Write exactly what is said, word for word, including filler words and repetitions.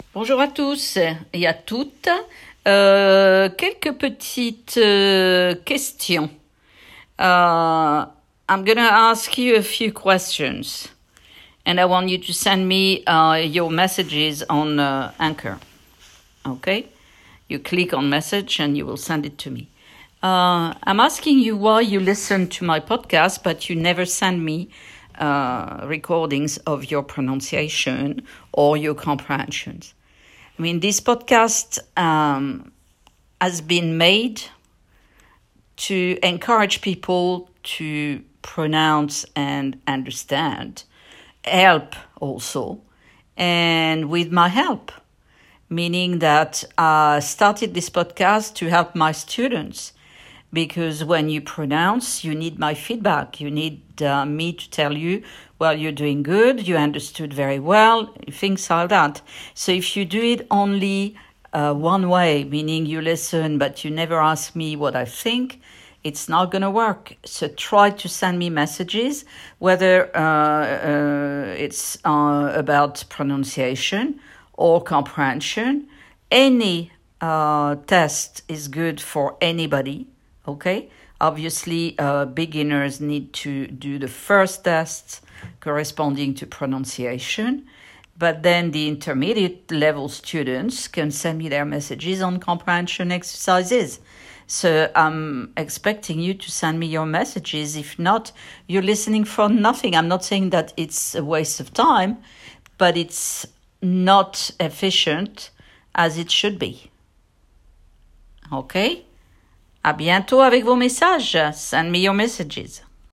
Bonjour à tous et à toutes. Euh, quelques petites euh, questions. Uh, I'm going to ask you a few questions, and I want you to send me uh, your messages on uh, Anchor. Okay? You click on message and you will send it to me. Uh, I'm asking you why you listen to my podcast, but you never send me uh, recordings of your pronunciation or your comprehensions. I mean, this podcast um, has been made to encourage people to pronounce and understand, help also, and with my help, meaning that I started this podcast to help my students, because when you pronounce, you need my feedback. You need uh, me to tell you, well, you're doing good, you understood very well, things like that. So if you do it only uh, one way, meaning you listen, but you never ask me what I think, it's not going to work. So try to send me messages, whether uh, uh, it's uh, about pronunciation or comprehension. Any uh, test is good for anybody. Okay, obviously, uh, beginners need to do the first tests corresponding to pronunciation, but then the intermediate level students can send me their messages on comprehension exercises. So I'm expecting you to send me your messages. If not, you're listening for nothing. I'm not saying that it's a waste of time, but it's not efficient as it should be. Okay? À bientôt avec vos messages. Send me your messages.